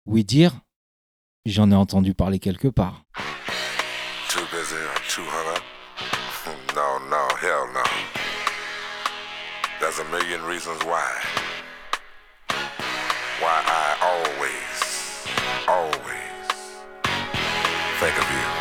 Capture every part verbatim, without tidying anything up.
Oui dire, j'en ai entendu parler quelque part. Too busy or too hung up? No, no, hell no. There's a million reasons why. Why I always, always think of you.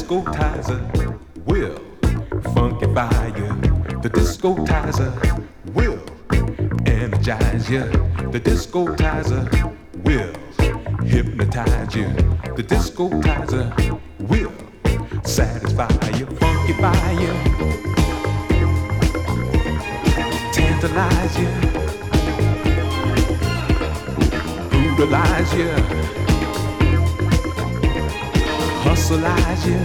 disco-tizer will funkify you. The disco-tizer will energize you. The disco-tizer will hypnotize you. The disco-tizer will satisfy you, funkify you, tantalize you, brutalize you, hustleize you.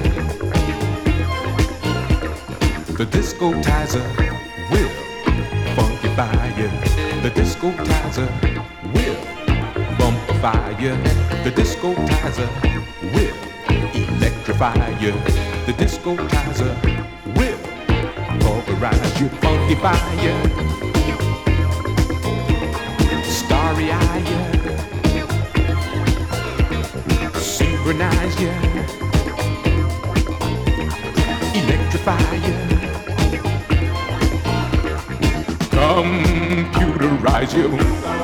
The disco-tizer will funkify you. The disco-tizer will bumpify you. The disco-tizer will electrify you. The disco-tizer will pulverize you, funkify you, starry-eye you, synchronize you, electrify you, computerize you.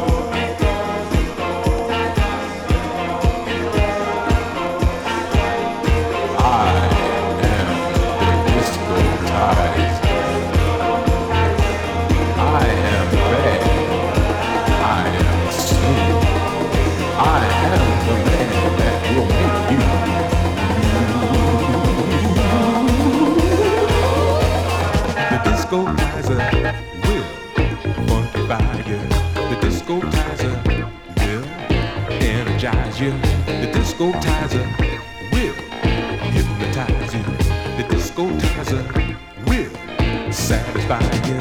Disco-tizer will funkify you. The disco-tizer will energize you. The disco-tizer will hypnotize you. The disco-tizer will satisfy you.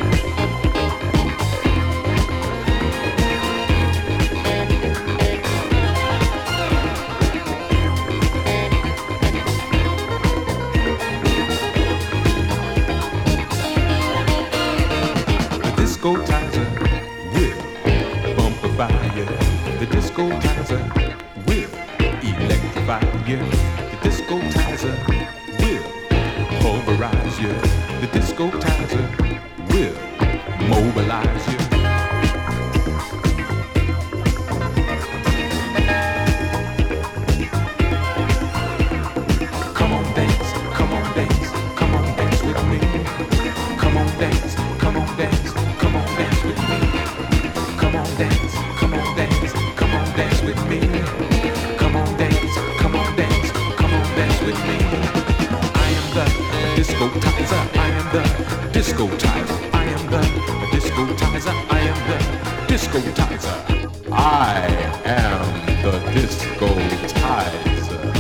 The disco-tizer will bumpify you. The disco-tizer will electrify you. The disco-tizer will pulverize you. The disco-tizer will mobilize you. Come on, dance, come on, dance, come on, dance with me. Come on, dance, come on, dance. Come on, dance with me. Come on, dance. Come on, dance. Come on, dance with me. Come on, dance. Come on, dance. Come on, dance with me. I am the disco-tizer. I am the disco-tizer. I am the disco-tizer. I am the disco-tizer. I am the disco-tizer.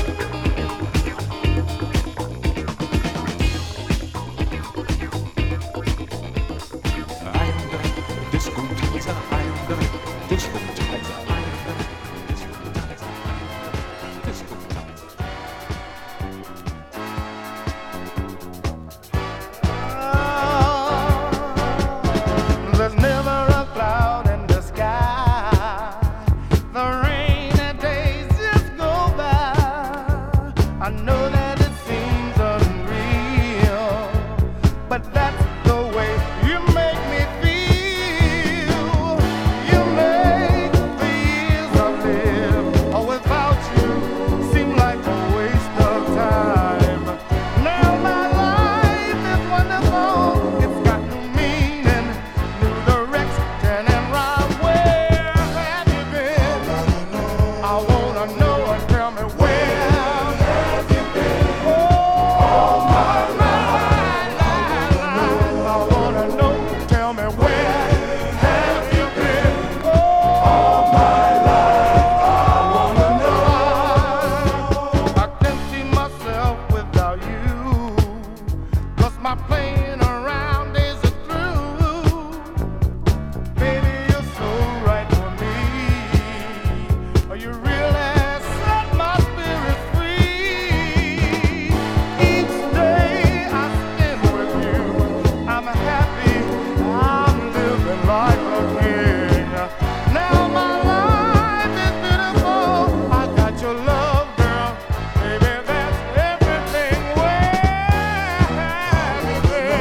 There's never a cloud in the sky. The rainy days just go by. I know that it seems unreal, but that's the way you make me feel. You make the years I live without you seem like a waste of time. Now my life is wonderful. It's got new meaning, new direction, and right. Where have you been? I wanna know and tell me where have you been? Oh, my life, I wanna know, tell me where have you been? Oh, my life, I wanna know. I can't see myself without you, 'cause my playing around days are through. Baby, you're so right for me. You really set my spirit free. Each day I spend with you, I'm happy, I'm living like a king. Now my life is beautiful. I got your love, girl. Baby, that's everything. Where have you been?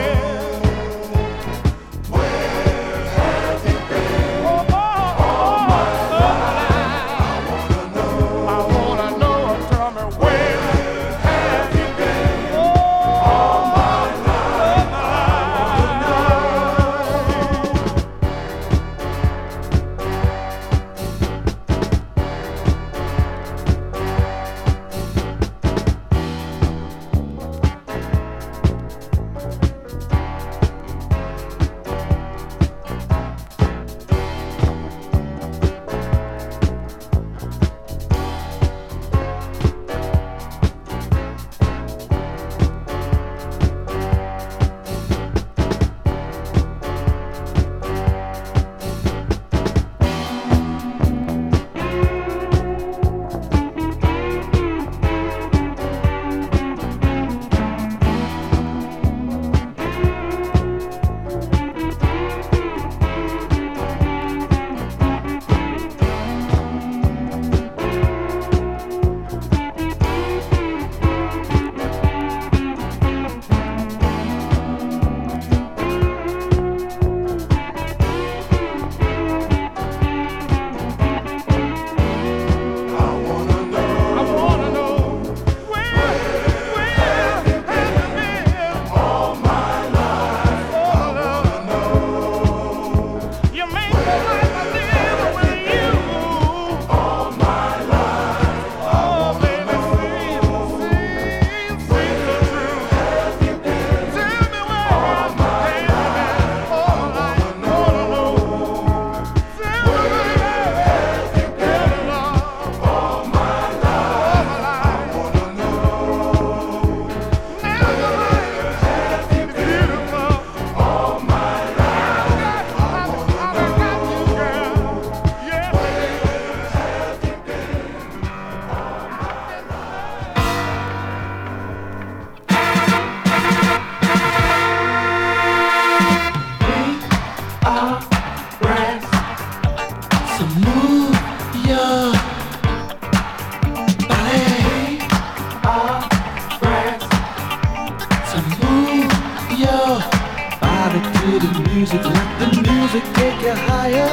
music, let the music take you higher.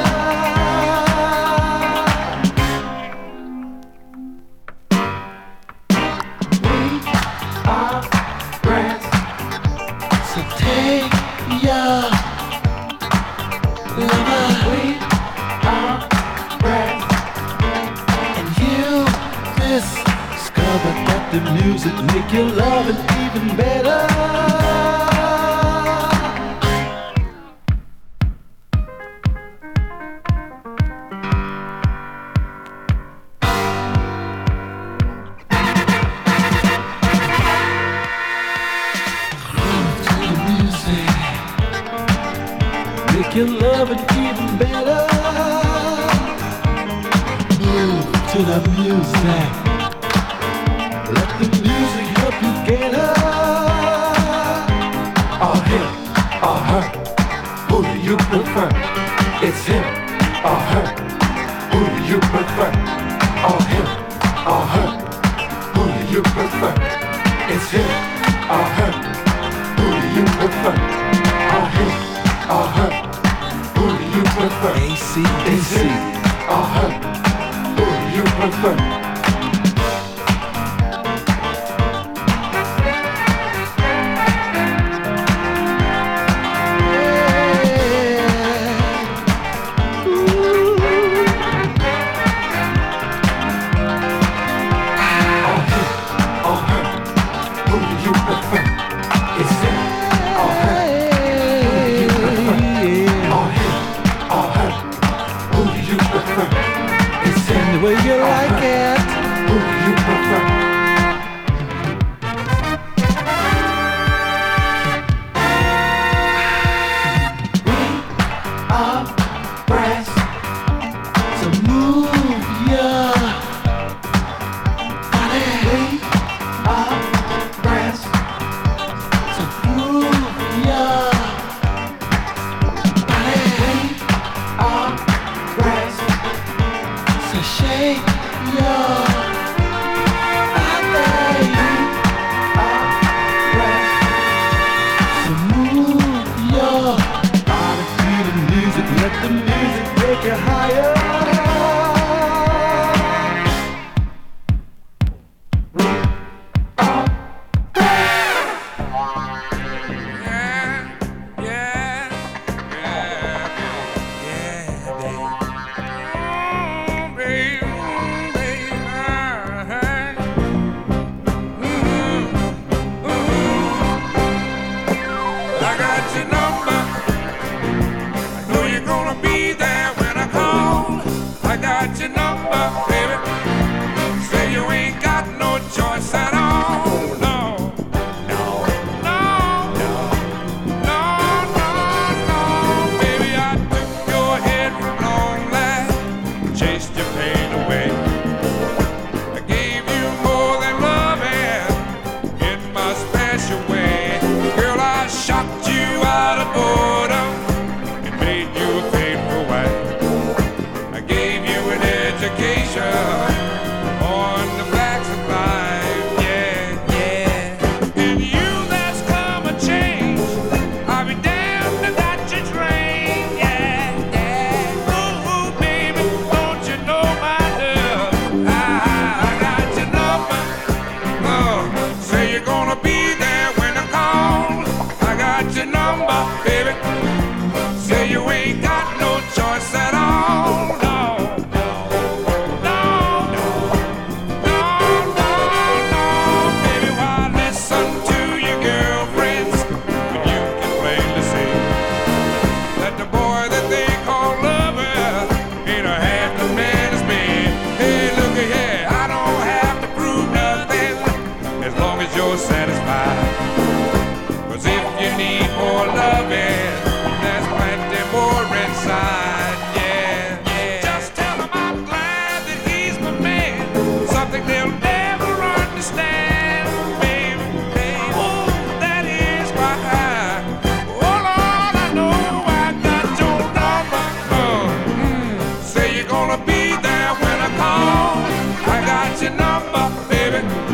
We are friends, so take your lover. We are friends, and you discover that the music make your loving even better. Your loving even better. Move to the music. Let the music help you get her. Or him, or her. Who do you prefer? It's him, or her. Who do you prefer? Or him, or her. Who do you prefer? It's him, or her. Who do you prefer? Or him, or her. Who do you prefer? A C D C or her? Who do you prefer? Yeah. Ooh. Or him or her? Who do you prefer? It's him or her? Who do you prefer? Or him? Who do you prefer? It's in the way you like it. Who do you prefer? We are friends, so move your body. We are friends, so move your body. We are friends, so shake your body. We are friends, so move your body to the music. Let the music take you higher. We are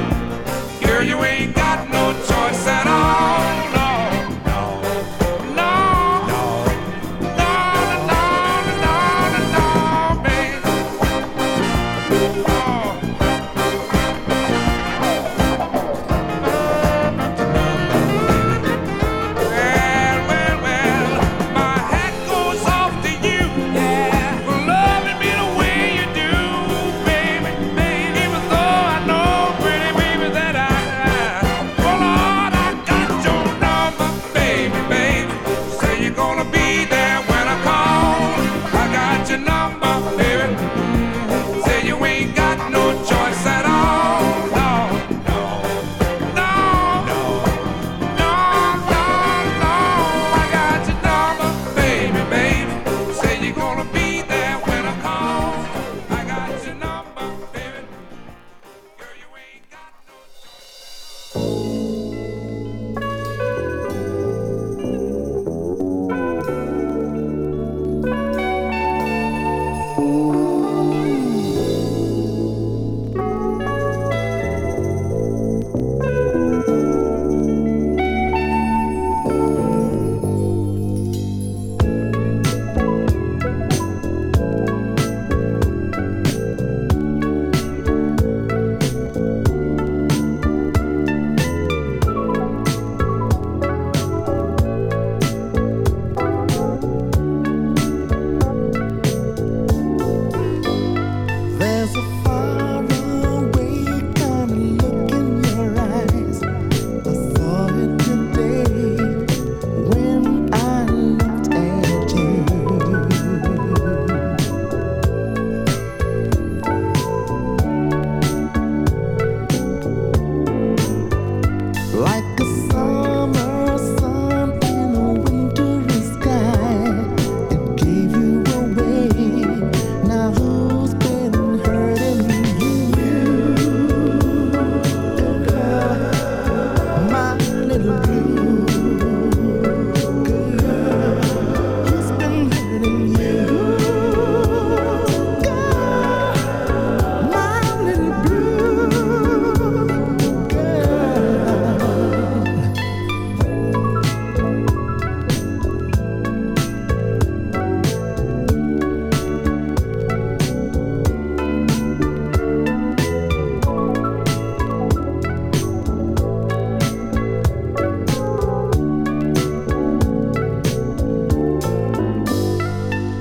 you ain't got no choice at all. No, no, no,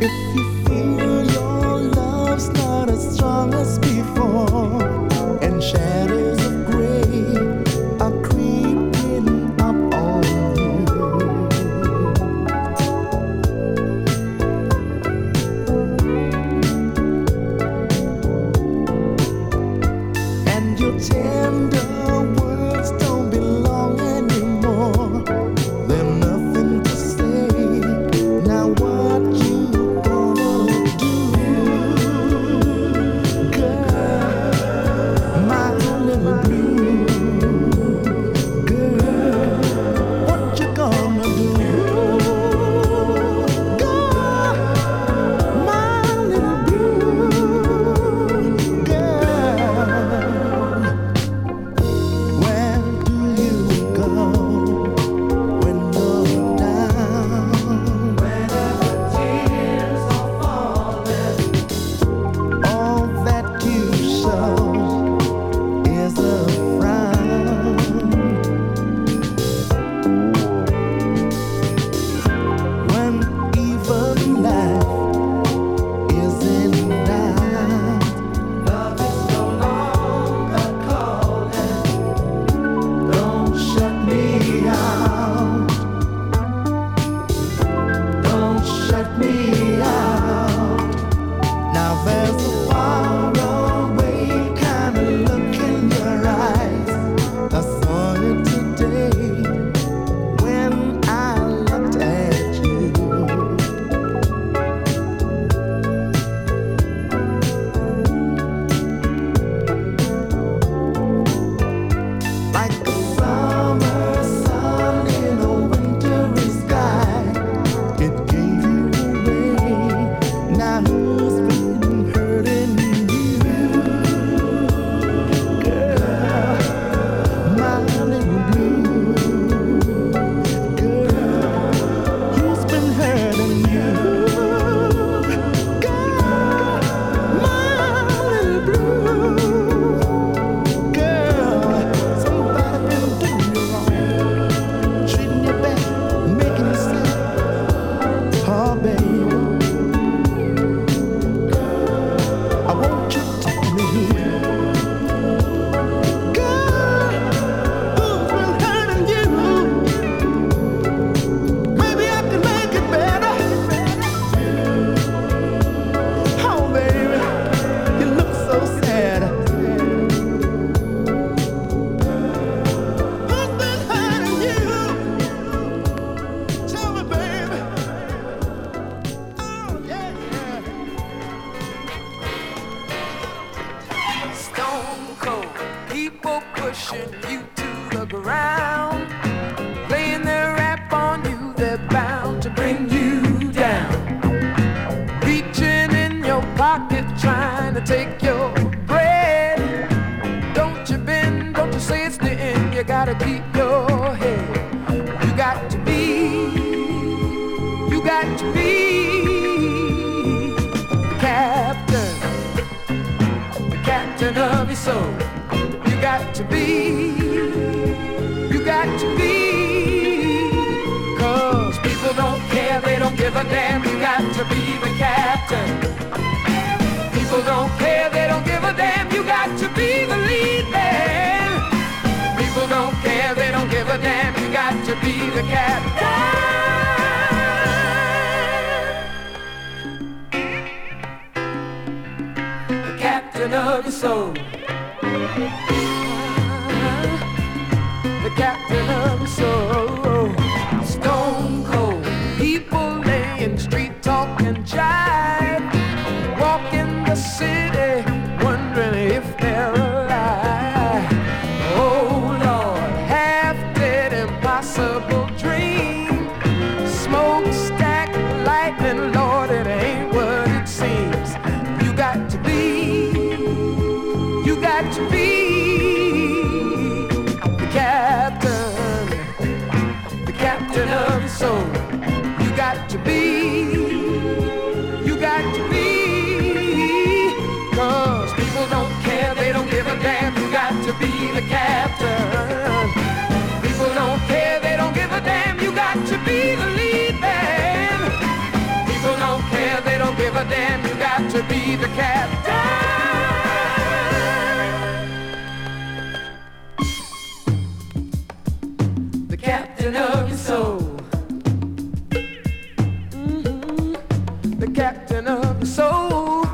People don't care, they to be the captain. The captain of your soul. Mm-hmm. The captain of your soul.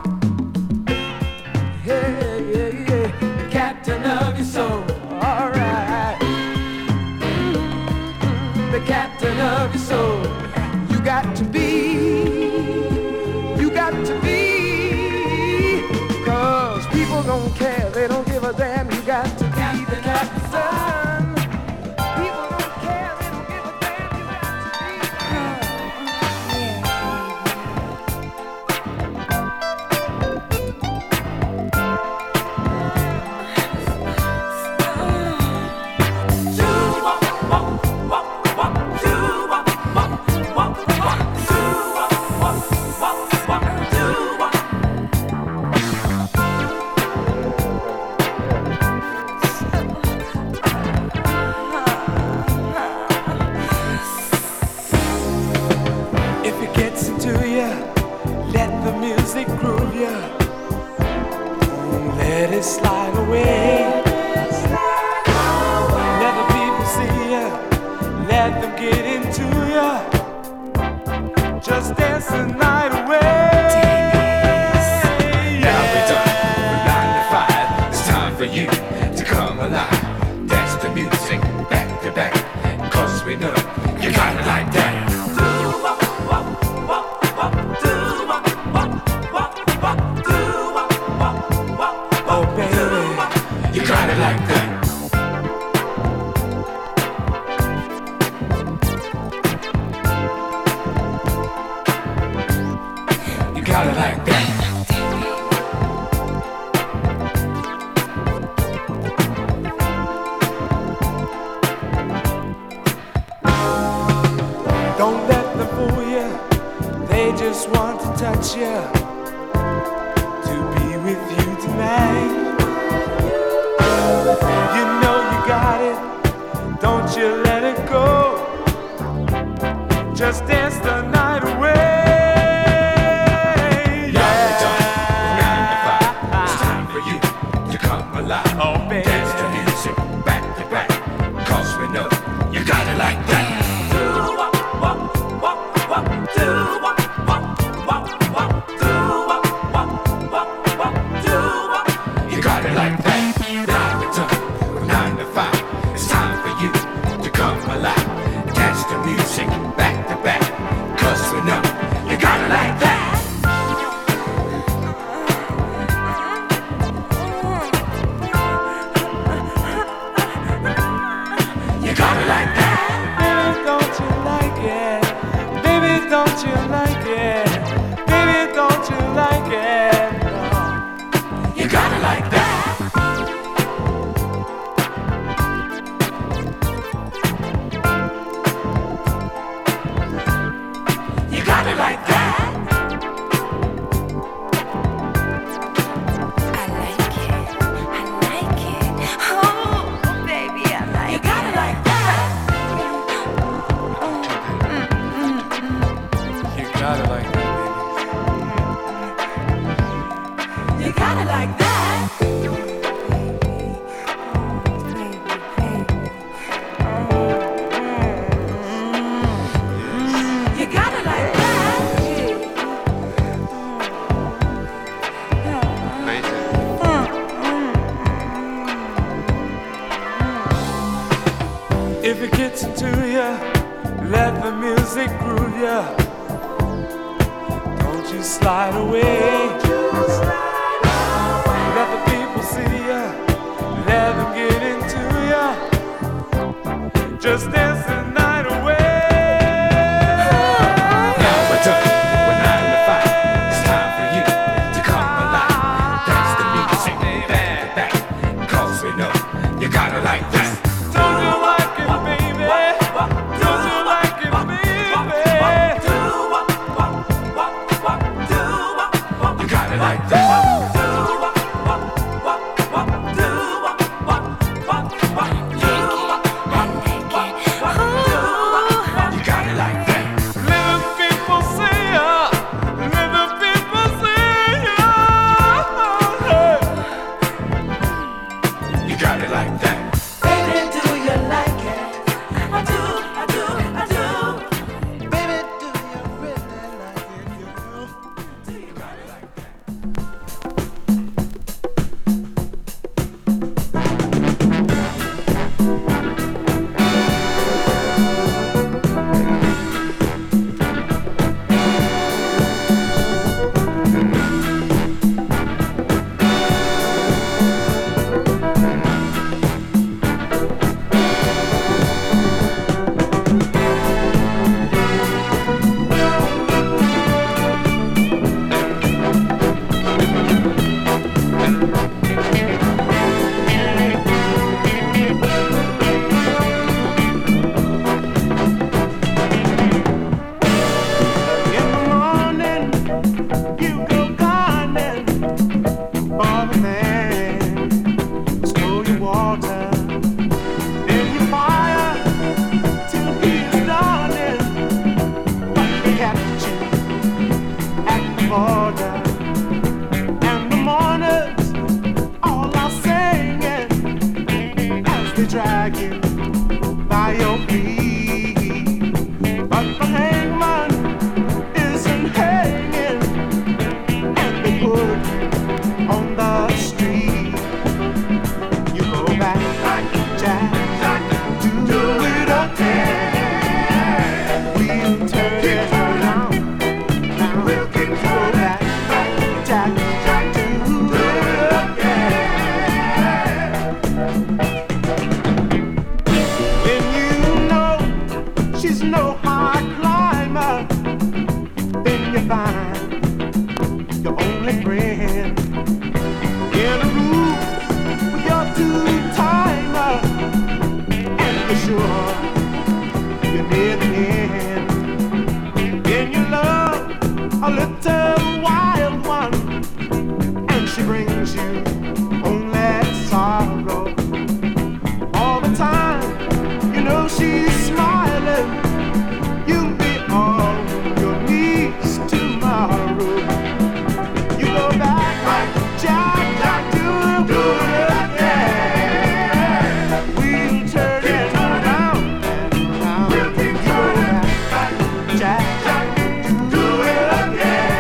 Yeah, yeah, yeah. The captain of your soul. All right. Mm-hmm. The captain of your soul. You got to be. You got to be. Cause people don't care. They don't give a damn. You got to be the captain. People don't care. They don't give a damn. You got to be. If it gets into you, let the music groove you. Let it slide away. Let the people see you. Let them get into you. Just dance the night away. Now we're done from nine to five. It's time for you to come alive. Dance the music back to back. Cause we know you got it like that. Oh, baby. You got it like that. You got it like that. Don't let them fool you. They just want to touch you. To be with you tonight. You know you got it. Don't you let it go. Just dance the night away. Now we're done from nine to five. It's time for you to come alive. Oh, baby. Dance the music back to back. Cause we know you got it like that. You got it like that. Now we're done from nine to five. It's time for you to come alive. Dance the music back to back. Cause we know you got it like that. You got it like that. Baby, don't you like it? Baby, don't you like it? Baby, don't you like it? No. You got it like that. You got it like that. I like it. I like it. Oh, baby, I like You got it like that. You got it like that, baby. You got it like that. You got it like that. If it gets into you, let the music groove you. Don't you slide away. Let the people see you. Let them get into you. Just dance the night away. Now we're done with nine to five. It's time for you to come alive. Dance the music back to back. Cause we know you got it like that. Don't you like it, baby? Don't you like it, baby? You got it like that. I like it. But the hangman isn't hanging, and they put on the street. You go back, Jack, do it again. We'll turn it around. Now we'll go back, Jack, do it again. When you know she's no high climber, then you find your only friend in a room with your two-timer, and you're sure you're near the end. Then you love a little wild one, and she brings you only sorrow. All the time, you know she's smiling. You'll be on your knees tomorrow. You go back like Jack, Jack, do, do it again. We'll turn it around and around. You go back like Jack, Jack, do it again.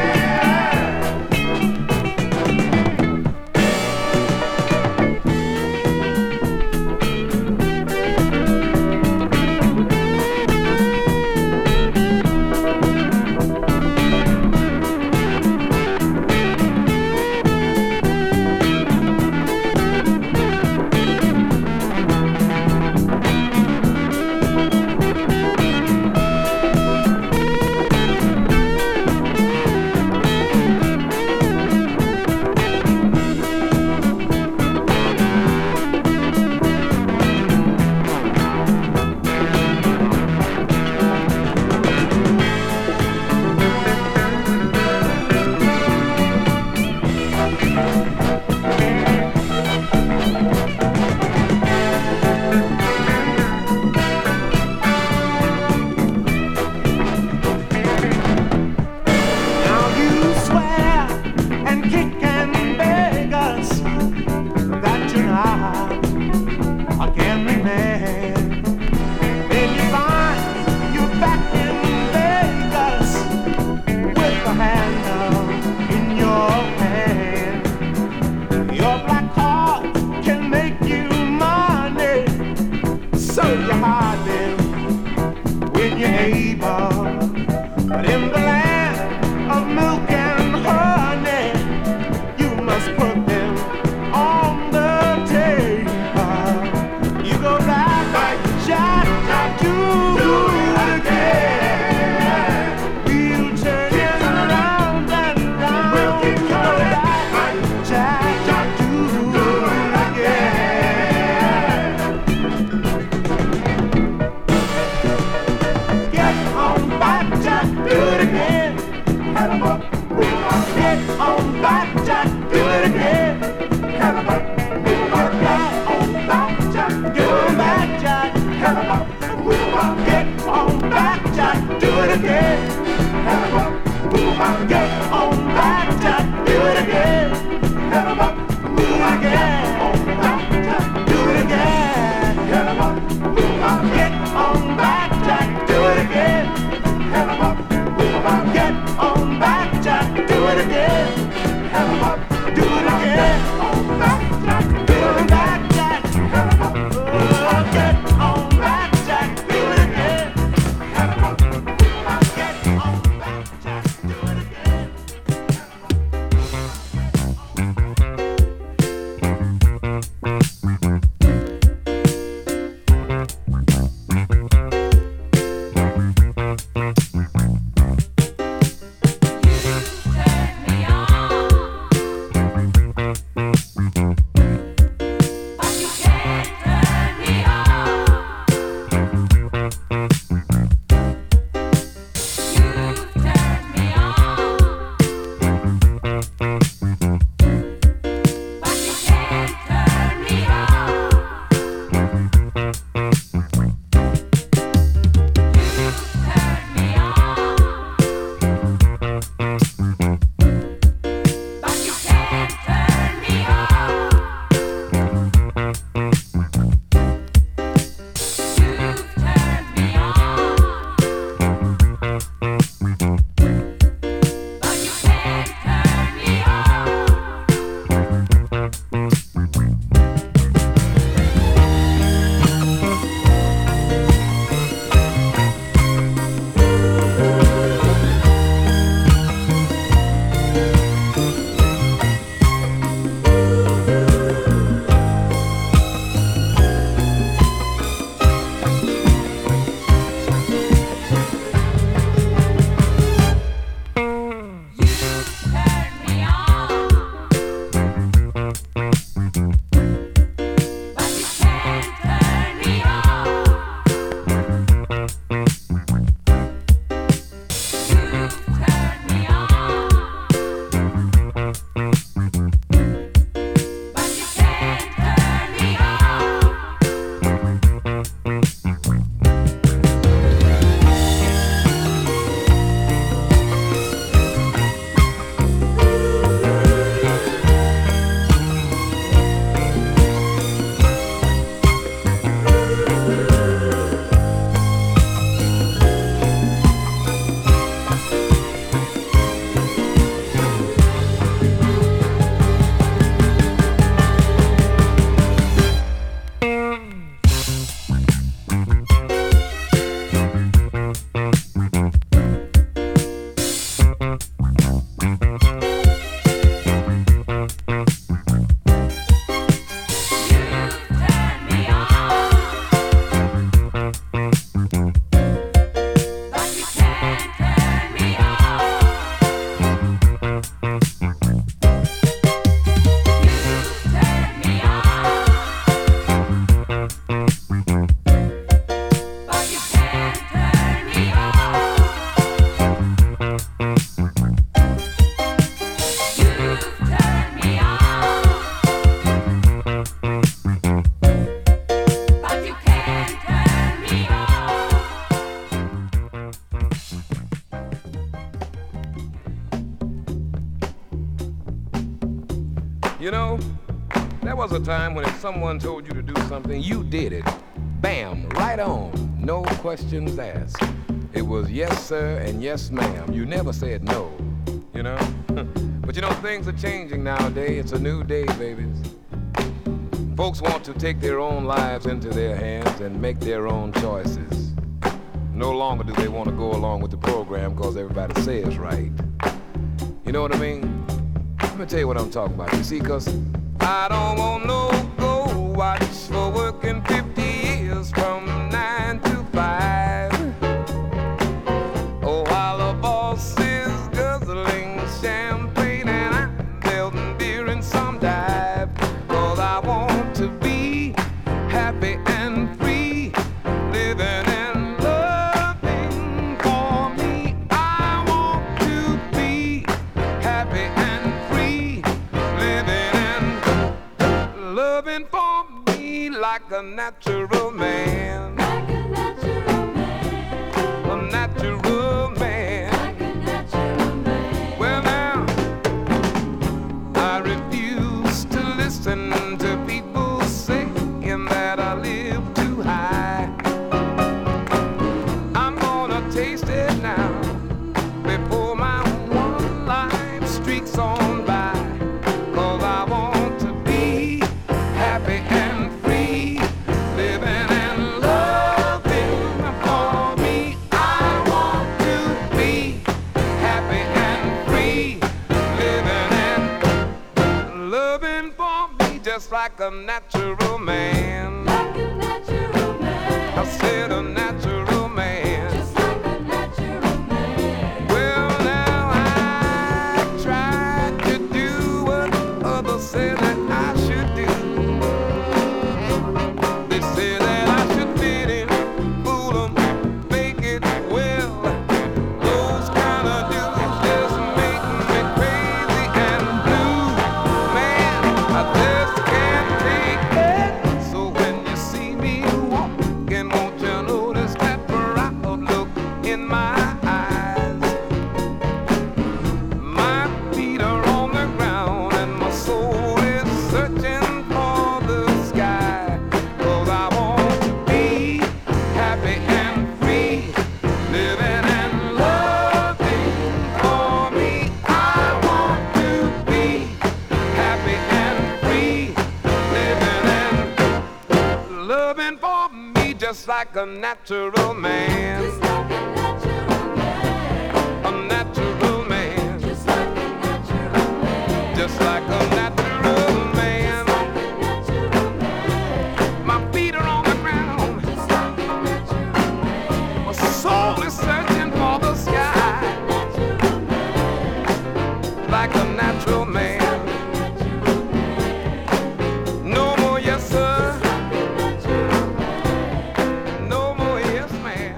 Now you swear and kick and beg us that you're not a gambling man. Then you find you're back in Vegas with the handle in your hand. Your black card can make you money, so you hide them when you're able. But in the land of milk and honey, you must put them on the table. You go back like Jack, Jack, do it again. We'll turn it around and around. You go back like Jack, Jack, do it again. Get on back, Jack, do it again. Get on back, Jack, do it again. Get on back, Jack, do it back, Jack. Get on back, Jack, do it again. Get on back, Jack, do it again. Do it again. Do it again. Get on back, Jack, do it again. Get on back, Jack, do it again. Do it again. Do it back, Jack. Oh, get on back, Jack, do it again. Get on back, Jack, do it again. You know, there was a time when if someone told you to do something, you did it. Bam, right on, no questions asked. It was yes, sir, and yes, ma'am. You never said no, you know? But you know, things are changing nowadays. It's a new day, babies. Folks want to take their own lives into their hands and make their own choices. No longer do they want to go along with the program because everybody says right. You know what I mean? Let me tell you what I'm talking about. You see, because I don't want no go watch for working fifty years from nine to five. Oh, while the boss is guzzling champagne and I'm building beer in some dive. Cause I want to be happy and free, living and loving for me. I want to be happy and free, living and loving for me like a natural man. Like a natural man. A natural man. Like a natural man. Well now, I refuse to listen to people saying that I live too high. I'm gonna taste it now before my one life streaks on by. Cause I want to be happy and free, living and loving for me. I want to be happy and free, living and loving for me just like a natural man. Like a natural man. I said a natural man. Just like a natural man. Well now I tried to do what others said that I should do. They say that I should fit in, fool 'em, fake it well. Those kind of dudes just make me crazy and blue. Man, I just can't take it. So when you see me walking, won't you notice that proud look in my eyes? My feet are on the ground and my soul is searching for the sky. Cause I want to be happy and free, living and loving for me. I want to be happy and free, living and loving for me just like a natural man. Just like a natural man. A natural man. Just like a natural man. Just like a natural man. Just like a natural man. My feet are on the ground. Just like a natural man. My soul is searching for the sky. Like a natural man. No more yes sir. No more yes ma'am.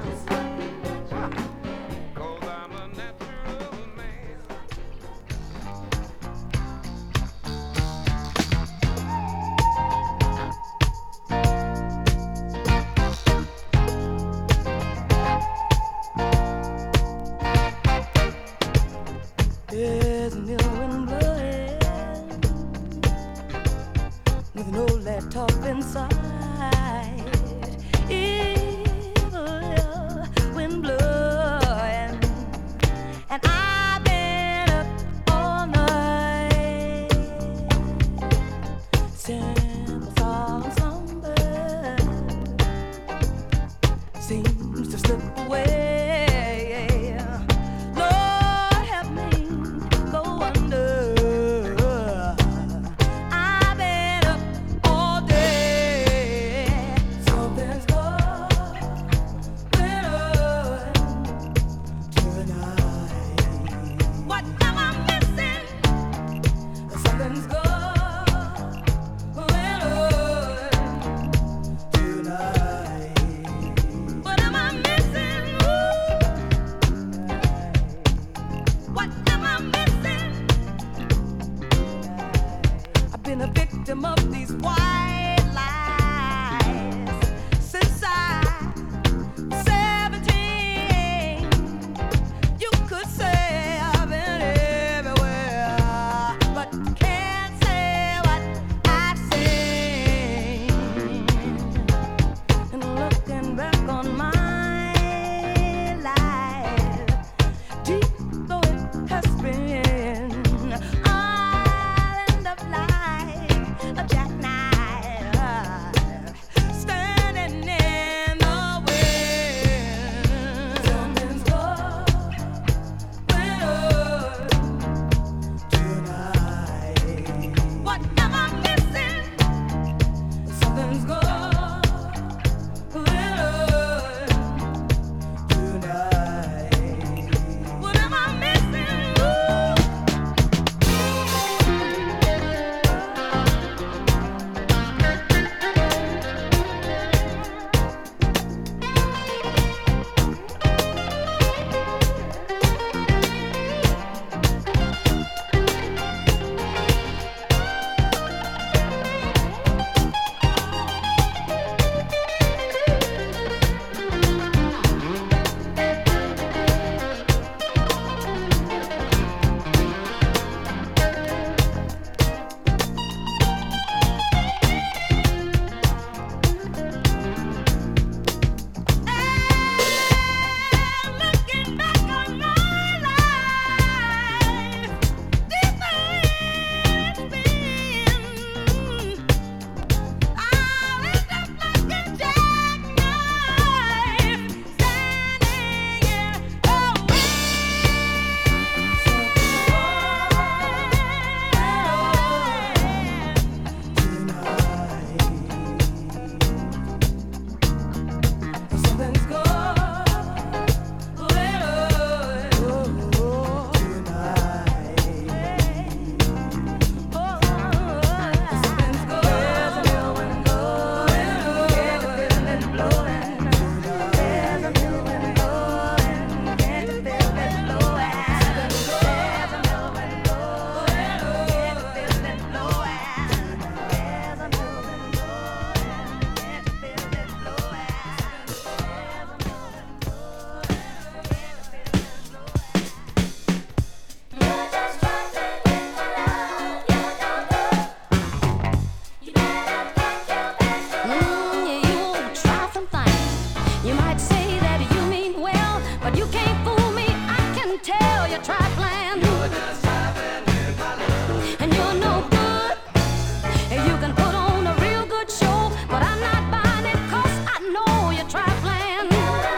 You can't fool me, I can tell you're trifling. You're just trifling with my love. And you're no good. You can put on a real good show, but I'm not buying it 'cause I know you're trifling.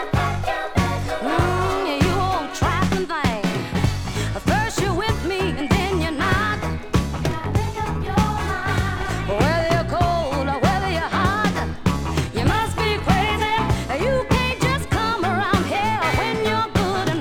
Mm, you old trifling thing. First you're with me and then you're not. Whether you're cold or whether you're hot, you must be crazy. You can't just come around here when you're good and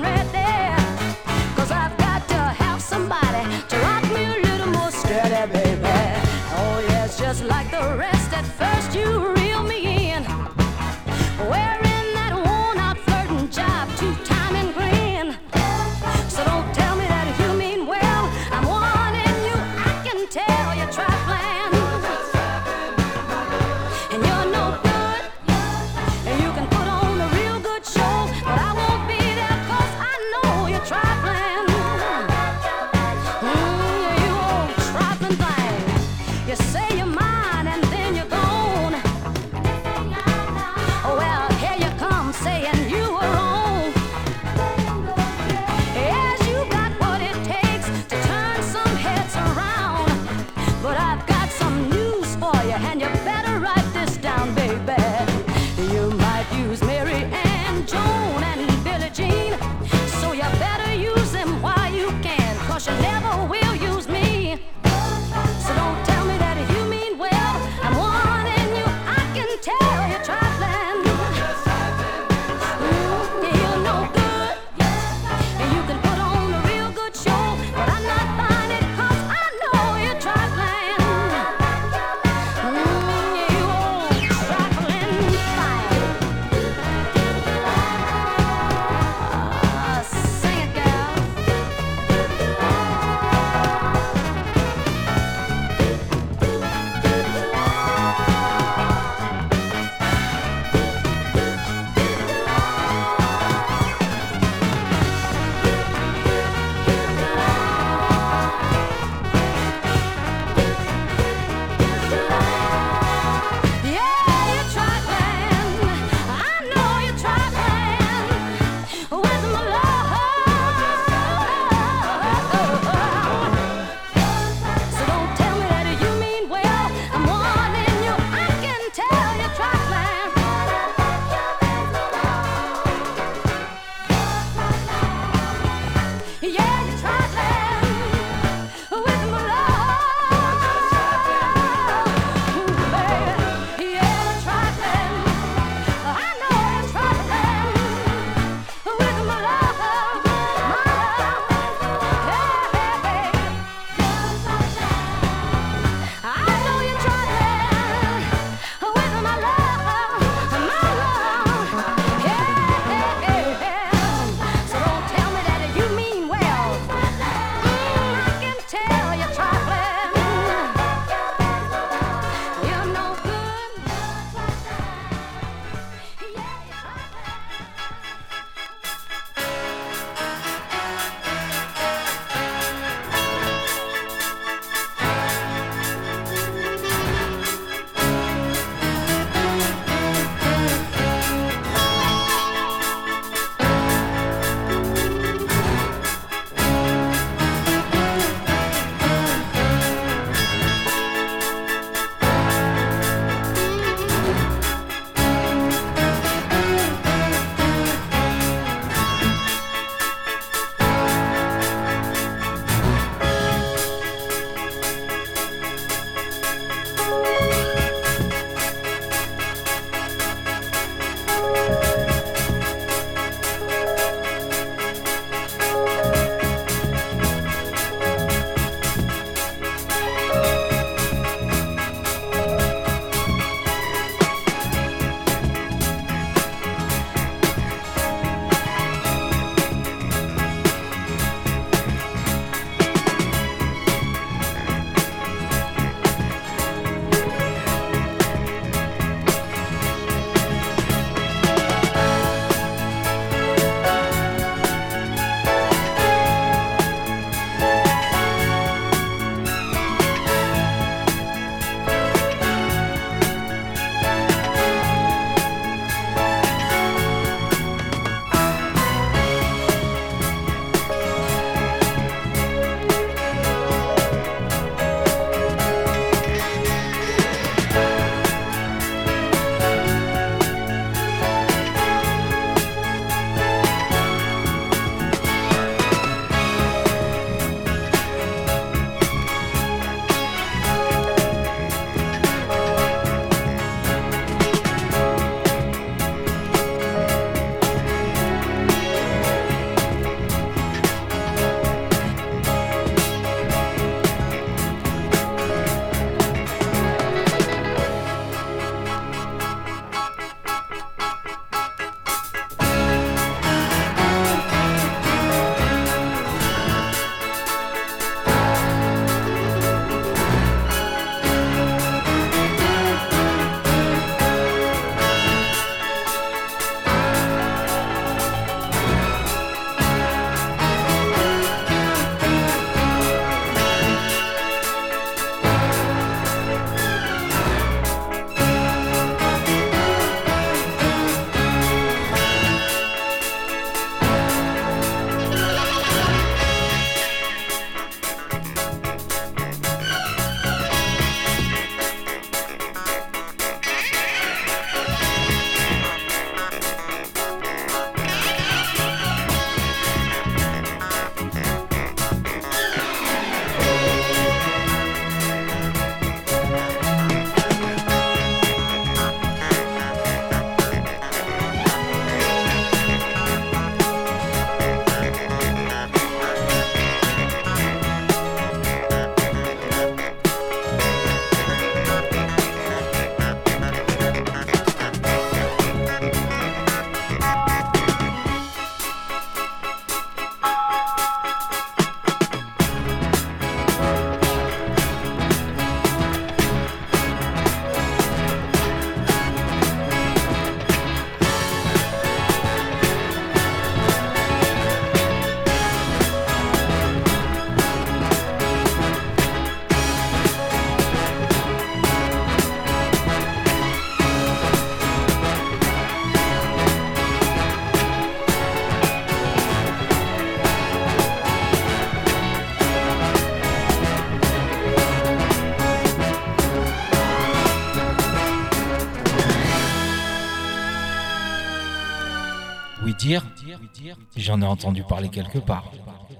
Oui dire, j'en ai entendu parler quelque part.